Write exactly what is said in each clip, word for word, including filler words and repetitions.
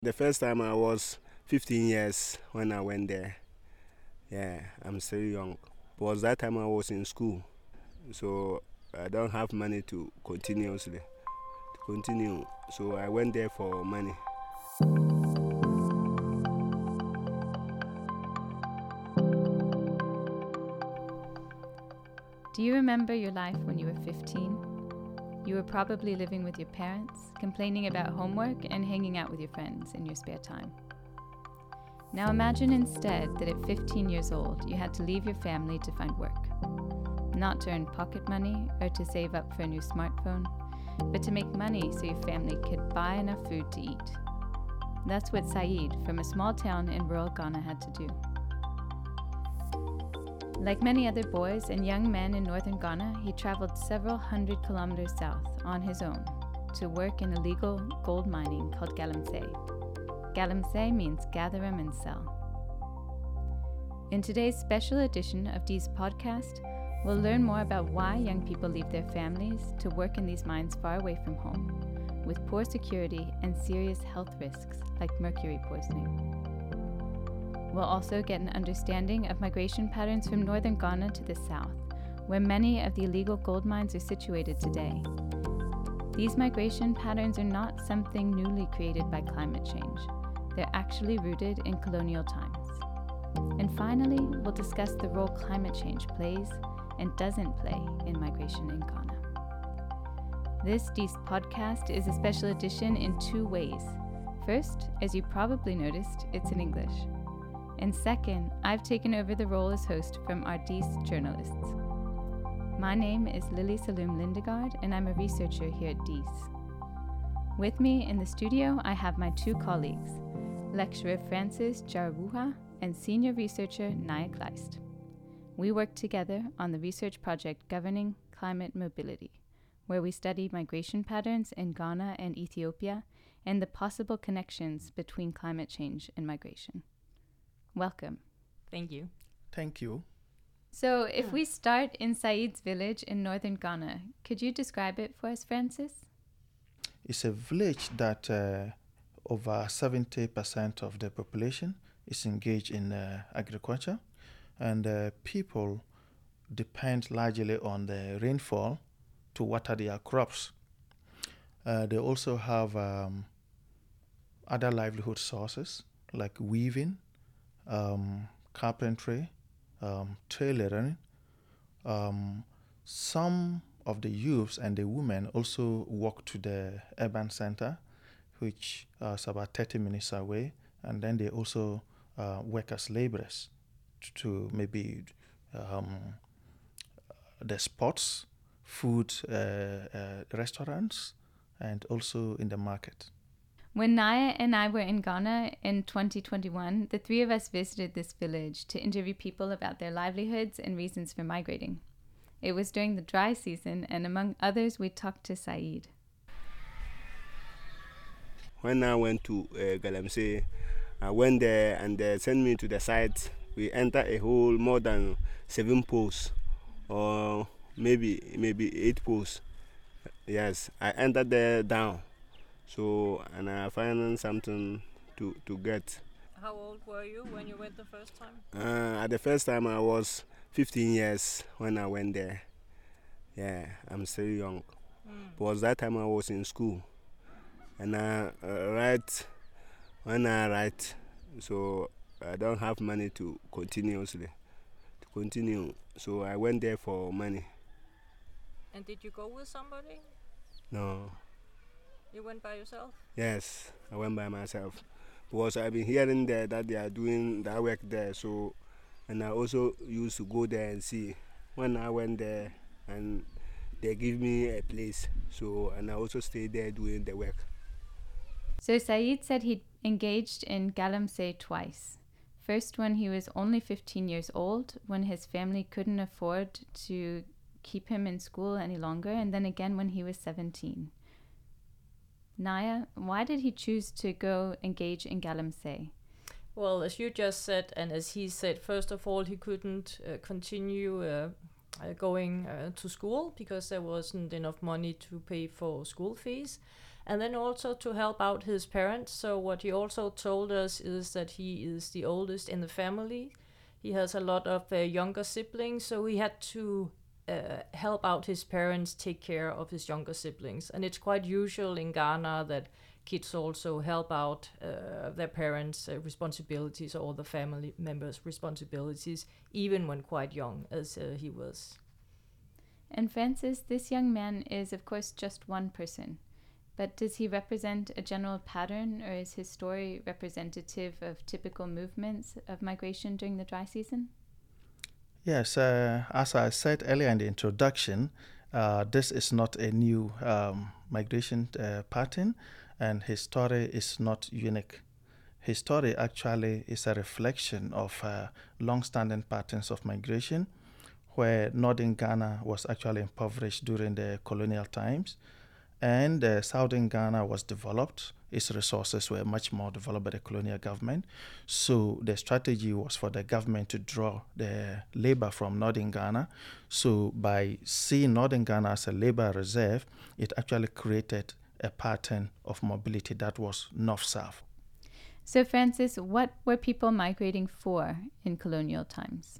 The first time I was fifteen years when I went there. Yeah, I'm still young. Because that time I was in school, so I don't have money to continuously to continue. So I went there for money. Do you remember your life when you were fifteen? You were probably living with your parents, complaining about homework and hanging out with your friends in your spare time. Now imagine instead that at fifteen years old you had to leave your family to find work. Not to earn pocket money or to save up for a new smartphone, but to make money so your family could buy enough food to eat. That's what Saeed from a small town in rural Ghana had to do. Like many other boys and young men in northern Ghana, he traveled several hundred kilometers south on his own to work in illegal gold mining called galamsey. Galamsey means gather 'em and sell. In today's special edition of Dee's podcast, we'll learn more about why young people leave their families to work in these mines far away from home, with poor security and serious health risks like mercury poisoning. We'll also get an understanding of migration patterns from northern Ghana to the south, where many of the illegal gold mines are situated today. These migration patterns are not something newly created by climate change. They're actually rooted in colonial times. And finally, we'll discuss the role climate change plays and doesn't play in migration in Ghana. This Dees podcast is a special edition in two ways. First, as you probably noticed, it's in English. And second, I've taken over the role as host from our Dees journalists. My name is Lily Saloom Lindegard, and I'm a researcher here at Dees. With me in the studio, I have my two colleagues, lecturer Francis Jarawuha and senior researcher Naya Kleist. We work together on the research project Governing Climate Mobility, where we study migration patterns in Ghana and Ethiopia and the possible connections between climate change and migration. Welcome. Thank you. Thank you. So if we start in Saeed's village in northern Ghana, could you describe it for us, Francis? It's a village that uh, over seventy percent of the population is engaged in uh, agriculture, and uh, people depend largely on the rainfall to water their crops. Uh, they also have um, other livelihood sources like weaving, um, carpentry, um, tailoring. Um, some of the youths and the women also walk to the urban center, which uh, is about thirty minutes away, and then they also uh, work as laborers to maybe um, the sports, food uh, uh, restaurants, and also in the market. When Naya and I were in Ghana in twenty twenty-one, the three of us visited this village to interview people about their livelihoods and reasons for migrating. It was during the dry season, and among others, we talked to Saeed. When I went to uh, Galamsey, I went there and they sent me to the site. We entered a hole more than seven posts, or maybe maybe eight posts. Yes, I entered there down. So, and I found something to, to get. How old were you when you went the first time? Uh, at the first time I was fifteen years when I went there. Yeah, I'm still young. Mm. Because that time I was in school. And I uh, write, when I write, so I don't have money to continuously, to continue. So I went there for money. And did you go with somebody? No. You went by yourself? Yes, I went by myself. Because I've been hearing that, that they are doing that work there. So, and I also used to go there and see. When I went there, and they give me a place. So, and I also stayed there doing the work. So Saeed said he'd engaged in galamsey twice. First when he was only fifteen years old, when his family couldn't afford to keep him in school any longer, and then again when he was seventeen. Naya, why did he choose to go engage in galamsey? Well, as you just said, and as he said, first of all, he couldn't uh, continue uh, uh, going uh, to school because there wasn't enough money to pay for school fees. and then also to help out his parents. So what he also told us is that he is the oldest in the family. He has a lot of uh, younger siblings, so he had to uh, help out his parents take care of his younger siblings. And it's quite usual in Ghana that kids also help out uh, their parents' uh, responsibilities or the family members' responsibilities, even when quite young, as uh, he was. And Francis, this young man is, of course, just one person. But does he represent a general pattern, or is his story representative of typical movements of migration during the dry season? Yes, uh, as I said earlier in the introduction, uh, this is not a new um, migration uh, pattern, and his story is not unique. His story actually is a reflection of uh, long-standing patterns of migration, where northern Ghana was actually impoverished during the colonial times, and uh, southern Ghana was developed. Its resources were much more developed by the colonial government. So the strategy was for the government to draw the labor from northern Ghana. So by seeing northern Ghana as a labor reserve, it actually created a pattern of mobility that was north-south. So Francis, what were people migrating for in colonial times?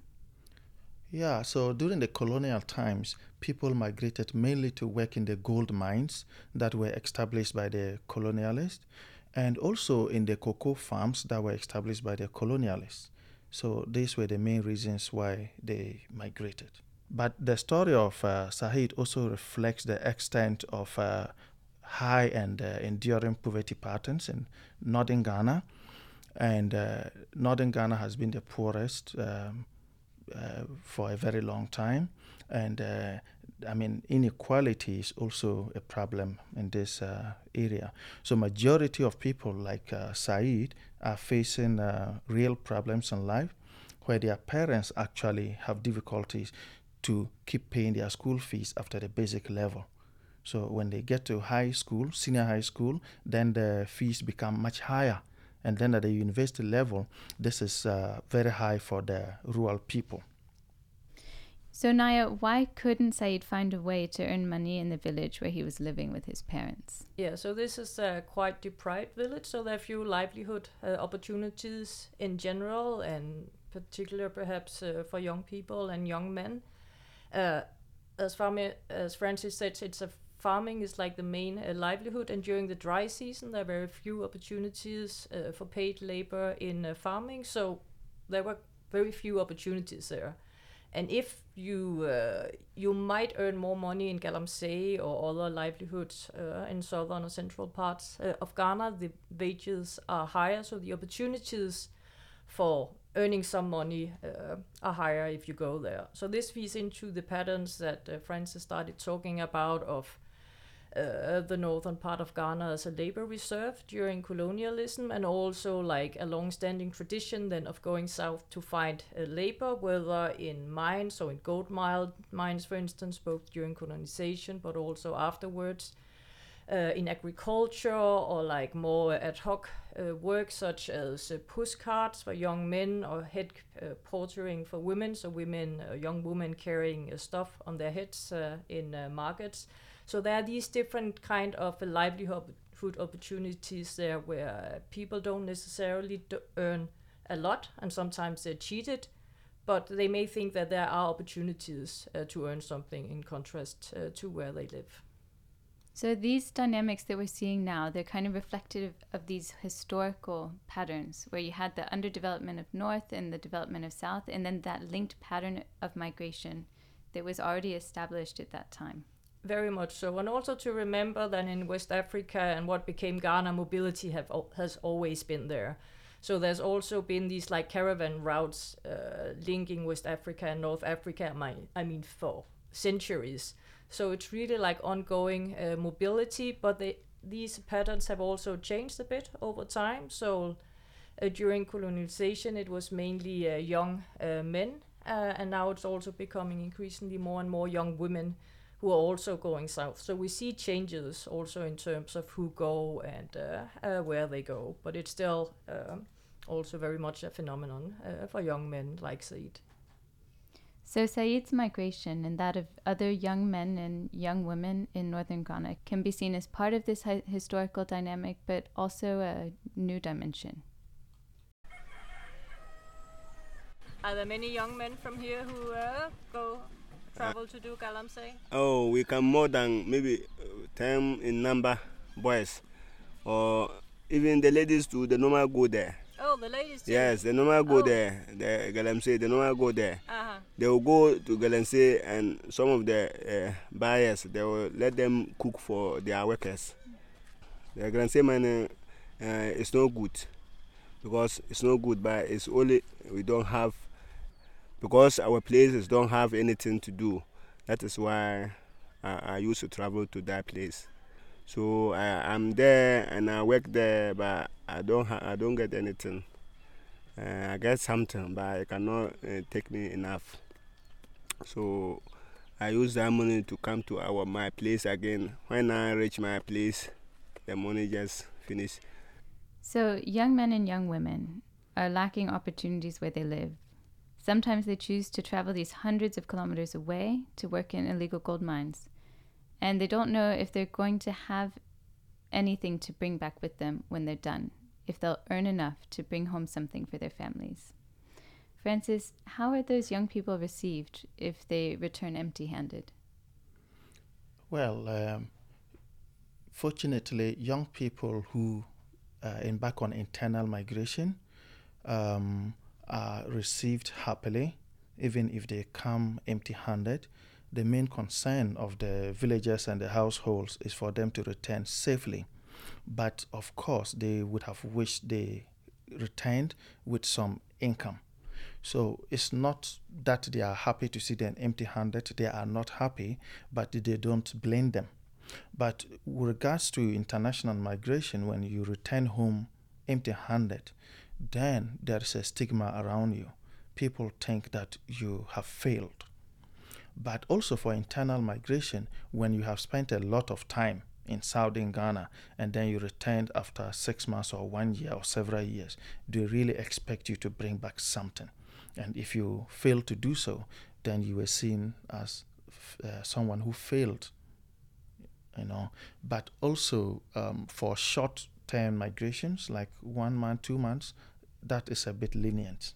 Yeah, so during the colonial times, people migrated mainly to work in the gold mines that were established by the colonialists, and also in the cocoa farms that were established by the colonialists. So these were the main reasons why they migrated. But the story of uh, Saheed also reflects the extent of uh, high and uh, enduring poverty patterns in northern Ghana. And uh, northern Ghana has been the poorest um, uh, for a very long time. And uh, I mean, inequality is also a problem in this uh, area. So majority of people like uh, Saeed are facing uh, real problems in life, where their parents actually have difficulties to keep paying their school fees after the basic level. So when they get to high school, senior high school, then the fees become much higher. And then at the university level, this is uh, very high for the rural people. So Naya, why couldn't Saeed find a way to earn money in the village where he was living with his parents? Yeah, so this is a quite deprived village, so there are few livelihood uh, opportunities in general, and particular perhaps uh, for young people and young men. Uh, as far as Francis said, it's a farming is like the main uh, livelihood, and during the dry season there are very few opportunities uh, for paid labor in uh, farming, so there were very few opportunities there. And if you uh, you might earn more money in Galamsey or other livelihoods uh, in southern or central parts uh, of Ghana, the wages are higher, so the opportunities for earning some money uh, are higher if you go there. So this feeds into the patterns that uh, Francis started talking about of uh, the northern part of Ghana as a labor reserve during colonialism, and also like a long-standing tradition then of going south to find uh, labor, whether in mines or in gold mine, mines, for instance, both during colonization but also afterwards. Uh, in agriculture, or like more ad hoc uh, work such as uh, push carts for young men, or head uh, portering for women, so women, uh, young women carrying uh, stuff on their heads uh, in uh, markets. So there are these different kind of uh, livelihood opportunities there where uh, people don't necessarily do earn a lot, and sometimes they're cheated, but they may think that there are opportunities uh, to earn something in contrast uh, to where they live. So these dynamics that we're seeing now, they're kind of reflective of these historical patterns where you had the underdevelopment of North and the development of South, and then that linked pattern of migration that was already established at that time. Very much so. And also to remember that in West Africa and what became Ghana, mobility have has always been there. So there's also been these like caravan routes uh, linking West Africa and North Africa, my, I mean, for centuries. So it's really like ongoing uh, mobility, but they, these patterns have also changed a bit over time. So uh, during colonization, it was mainly uh, young uh, men, uh, and now it's also becoming increasingly more and more young women who are also going south. So we see changes also in terms of who go and uh, uh, where they go, but it's still uh, also very much a phenomenon uh, for young men like Saeed. So Said's migration and that of other young men and young women in northern Ghana can be seen as part of this hi- historical dynamic, but also a new dimension. Are there many young men from here who uh, go travel to do Galamsey? Oh, we can more than maybe uh, ten in number boys, or even the ladies too. They normal go there. Oh, the ladies too? Yes, they normal go Oh. there. The Galamsey, they normal go there. Uh-huh. They will go to Galamsey, and some of the uh, buyers, they will let them cook for their workers. The Galamsey money uh, is no good, because it's no good, but it's only we don't have, because our places don't have anything to do. That is why I, I used to travel to that place. So I, I'm there and I work there, but I don't ha- I don't get anything. Uh, I get something, but it cannot uh, take me enough. So I use that money to come to our my place again. When I reach my place, the money just finish. So young men and young women are lacking opportunities where they live. Sometimes they choose to travel these hundreds of kilometers away to work in illegal gold mines. And they don't know if they're going to have anything to bring back with them when they're done, if they'll earn enough to bring home something for their families. Francis, how are those young people received if they return empty-handed? Well, um, fortunately, young people who uh, embark on internal migration um, are received happily, even if they come empty-handed. The main concern of the villagers and the households is for them to return safely. But of course, they would have wished they returned with some income. So it's not that they are happy to see them empty-handed. They are not happy, but they don't blame them. But with regards to international migration, when you return home empty-handed, then there is a stigma around you. People think that you have failed. But also for internal migration, when you have spent a lot of time in southern Ghana and then you returned after six months or one year or several years, they really expect you to bring back something. And if you fail to do so, then you were seen as uh, someone who failed, you know. But also um, for short-term migrations, like one month, two months, that is a bit lenient.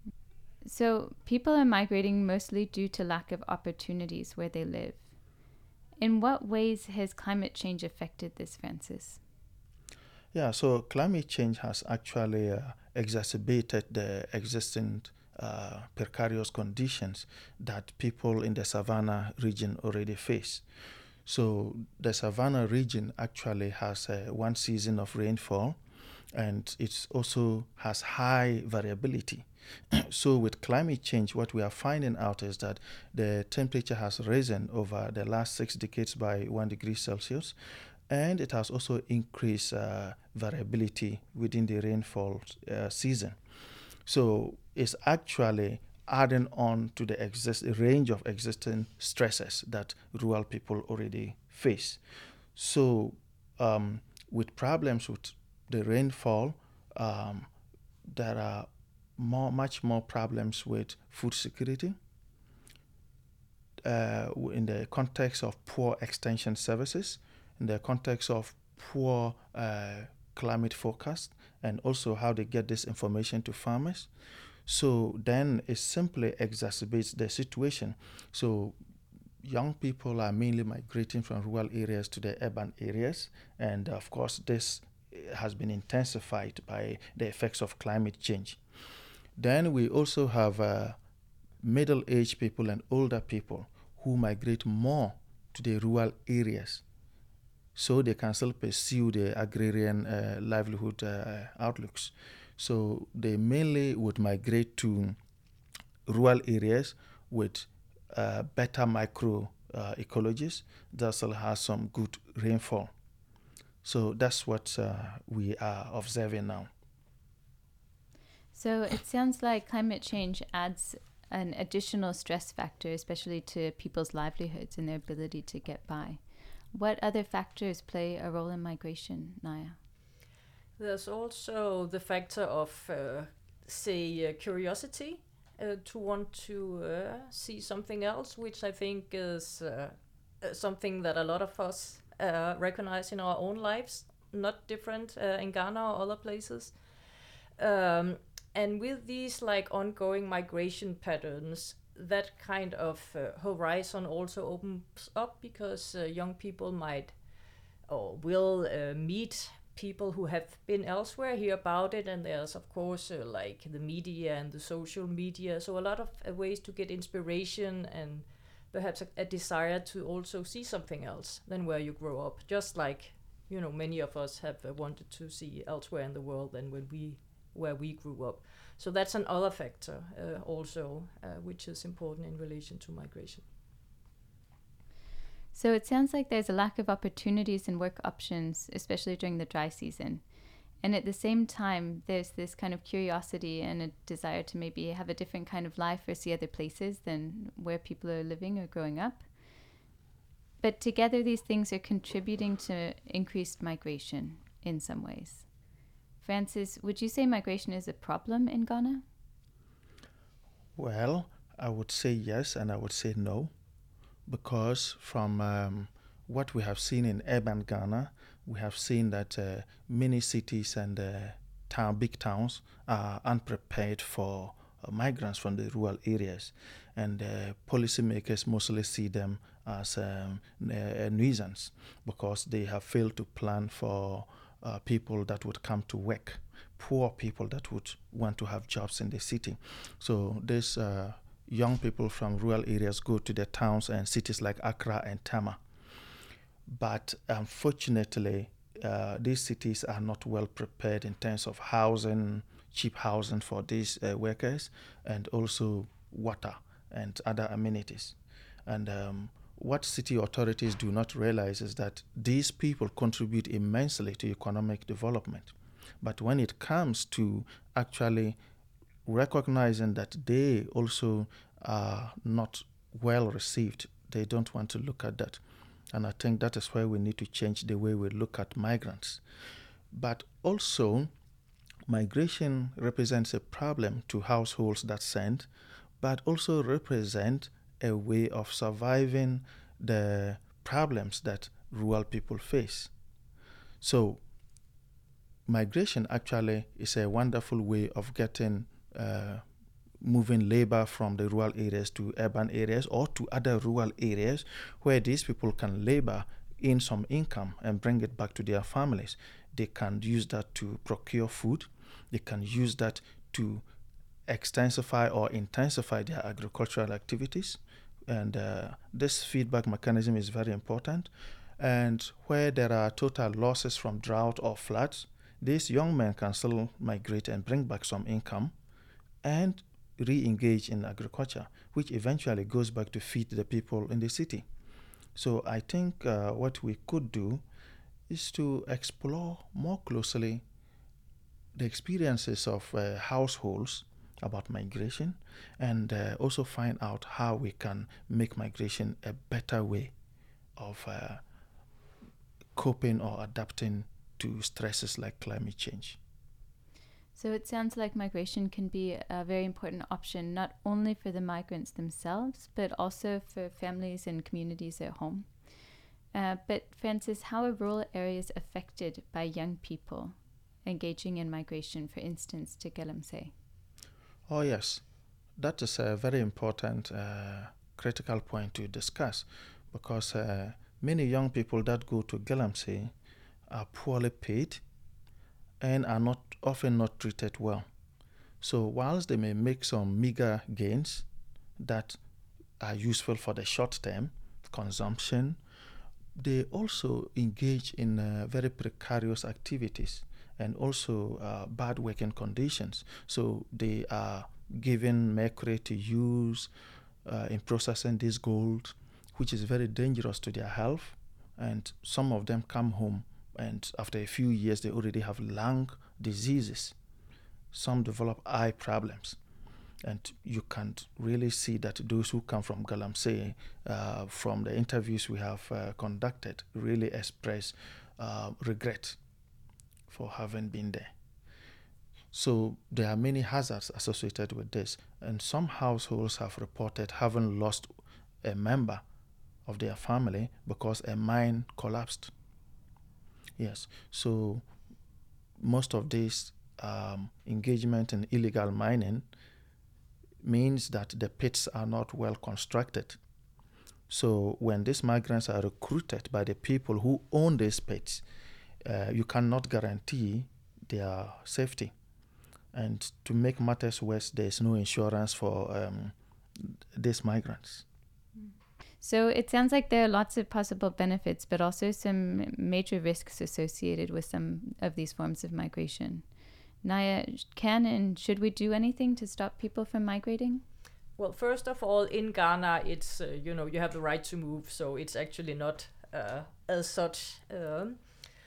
So people are migrating mostly due to lack of opportunities where they live. In what ways has climate change affected this, Francis? Yeah, so climate change has actually uh, exacerbated the existing uh, precarious conditions that people in the Savannah region already face. So the Savannah region actually has uh, one season of rainfall, and it also has high variability. So with climate change, what we are finding out is that the temperature has risen over the last six decades by one degree Celsius, and it has also increased uh, variability within the rainfall uh, season. So it's actually adding on to the exist range of existing stresses that rural people already face. So um, with problems with the rainfall, um, there are more, much more problems with food security. Uh, in the context of poor extension services, in the context of poor uh, climate forecast, and also how they get this information to farmers. So then it simply exacerbates the situation. So young people are mainly migrating from rural areas to the urban areas, and of course this has been intensified by the effects of climate change. Then we also have uh, middle-aged people and older people who migrate more to the rural areas so they can still pursue the agrarian uh, livelihood uh, outlooks. So they mainly would migrate to rural areas with uh, better micro uh, ecologies that still has some good rainfall. So that's what uh, we are observing now. So it sounds like climate change adds an additional stress factor, especially to people's livelihoods and their ability to get by. What other factors play a role in migration, Naya? There's also the factor of, uh, say, uh, curiosity. uh, to want to uh, see something else, which I think is uh, uh, something that a lot of us uh, recognize in our own lives, not different uh, in Ghana or other places. Um, and with these like ongoing migration patterns, that kind of uh, horizon also opens up, because uh, young people might or will uh, meet people who have been elsewhere, hear about it, and there's of course uh, like the media and the social media, so a lot of uh, ways to get inspiration and perhaps a, a desire to also see something else than where you grow up, just like, you know, many of us have uh, wanted to see elsewhere in the world than when we where we grew up. So that's another factor uh, also, uh, which is important in relation to migration. So it sounds like there's a lack of opportunities and work options, especially during the dry season. And at the same time, there's this kind of curiosity and a desire to maybe have a different kind of life or see other places than where people are living or growing up. But together, these things are contributing to increased migration in some ways. Francis, would you say migration is a problem in Ghana? Well, I would say yes, and I would say no, because from um, what we have seen in urban Ghana, we have seen that uh, many cities and uh, town, big towns are unprepared for uh, migrants from the rural areas, and uh, policymakers mostly see them as um, a nuisance because they have failed to plan for uh, people that would come to work, poor people that would want to have jobs in the city. So this uh, young people from rural areas go to the towns and cities like Accra and Tama. But unfortunately, uh, these cities are not well prepared in terms of housing, cheap housing for these uh, workers, and also water and other amenities. And um, what city authorities do not realize is that these people contribute immensely to economic development. But when it comes to actually recognizing that they also are not well received, they don't want to look at that. And I think that is why we need to change the way we look at migrants. But also, migration represents a problem to households that send, but also represent a way of surviving the problems that rural people face. So migration actually is a wonderful way of getting uh, moving labor from the rural areas to urban areas or to other rural areas where these people can labor in some income and bring it back to their families. They can use that to procure food. They can use that to extensify or intensify their agricultural activities. And uh, this feedback mechanism is very important. And where there are total losses from drought or floods, these young men can still migrate and bring back some income and re-engage in agriculture, which eventually goes back to feed the people in the city. So I think uh, what we could do is to explore more closely the experiences of uh, households about migration, and uh, also find out how we can make migration a better way of uh, coping or adapting to stresses like climate change. So it sounds like migration can be a very important option, not only for the migrants themselves, but also for families and communities at home. Uh, but Francis, how are rural areas affected by young people engaging in migration, for instance, to Galamsey? Oh yes, that is a very important uh, critical point to discuss, because uh, many young people that go to Galamsey are poorly paid and are not often not treated well. So whilst they may make some meager gains that are useful for the short term consumption, they also engage in uh, very precarious activities and also uh, bad working conditions. So they are given mercury to use uh, in processing this gold, which is very dangerous to their health. And some of them come home, and after a few years, they already have lung diseases. Some develop eye problems. And you can really see that those who come from Galamsey, uh, from the interviews we have uh, conducted, really express uh, regret for having been there. So there are many hazards associated with this, and some households have reported having lost a member of their family because a mine collapsed. Yes, so most of this um, engagement in illegal mining means that the pits are not well constructed. So when these migrants are recruited by the people who own these pits, uh, you cannot guarantee their safety. And to make matters worse, there is no insurance for um, these migrants. So it sounds like there are lots of possible benefits, but also some major risks associated with some of these forms of migration. Naya, can and should we do anything to stop people from migrating? Well, first of all, in Ghana, it's, uh, you know, you have the right to move, so it's actually not uh, as such um,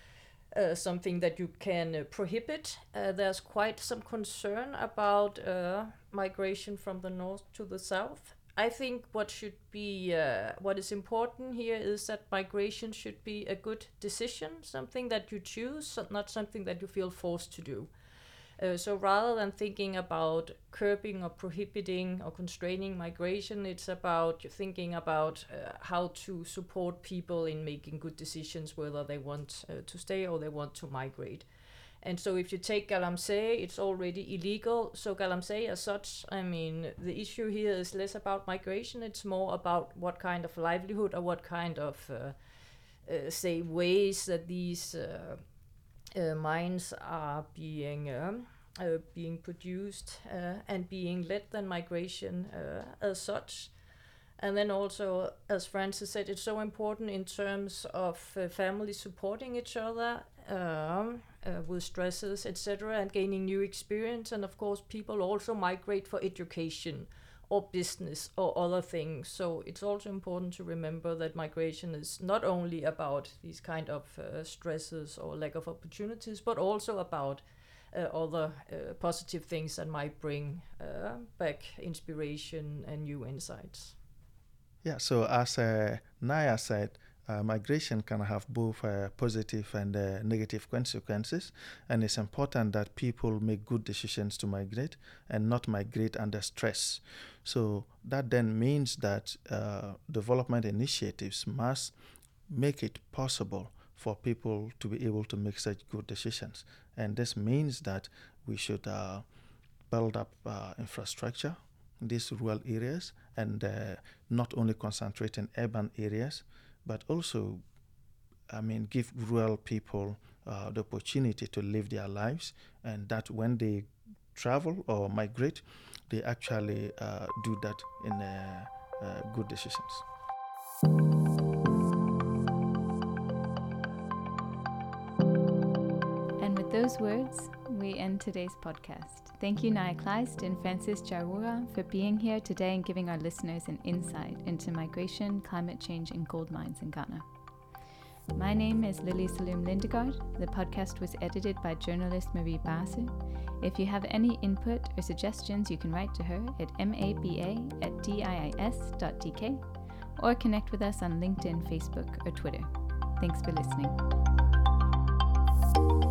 uh, something that you can uh, prohibit. Uh, there's quite some concern about uh, migration from the north to the south. I think what should be, uh, what is important here is that migration should be a good decision, something that you choose, not something that you feel forced to do. Uh, so rather than thinking about curbing or prohibiting or constraining migration, it's about thinking about uh, how to support people in making good decisions, whether they want uh, to stay or they want to migrate. And so if you take Galamsey, it's already illegal. So Galamsey as such, I mean, the issue here is less about migration. It's more about what kind of livelihood or what kind of, uh, uh, say, ways that these uh, uh, mines are being um, uh, being produced uh, and being led than migration uh, as such. And then also, as Francis said, it's so important in terms of uh, families supporting each other um, uh, with stresses, et cetera, and gaining new experience. And of course, people also migrate for education or business or other things. So it's also important to remember that migration is not only about these kind of uh, stresses or lack of opportunities, but also about uh, other uh, positive things that might bring uh, back inspiration and new insights. Yeah, so as uh, Naya said, uh, migration can have both uh, positive and uh, negative consequences, and it's important that people make good decisions to migrate and not migrate under stress. So that then means that uh, development initiatives must make it possible for people to be able to make such good decisions. And this means that we should uh, build up uh, infrastructure in these rural areas, and uh, not only concentrate in urban areas, but also, I mean, give rural people uh, the opportunity to live their lives, and that when they travel or migrate, they actually uh, do that in uh, uh, good decisions. And with those words, we end today's podcast. Thank you, Naya Kleist and Francis Jarura, for being here today and giving our listeners an insight into migration, climate change, and gold mines in Ghana. My name is Lily Saloom Lindegaard. The podcast was edited by journalist Marie Basu. If you have any input or suggestions, you can write to her at maba at diis dot d k or connect with us on LinkedIn, Facebook, or Twitter. Thanks for listening.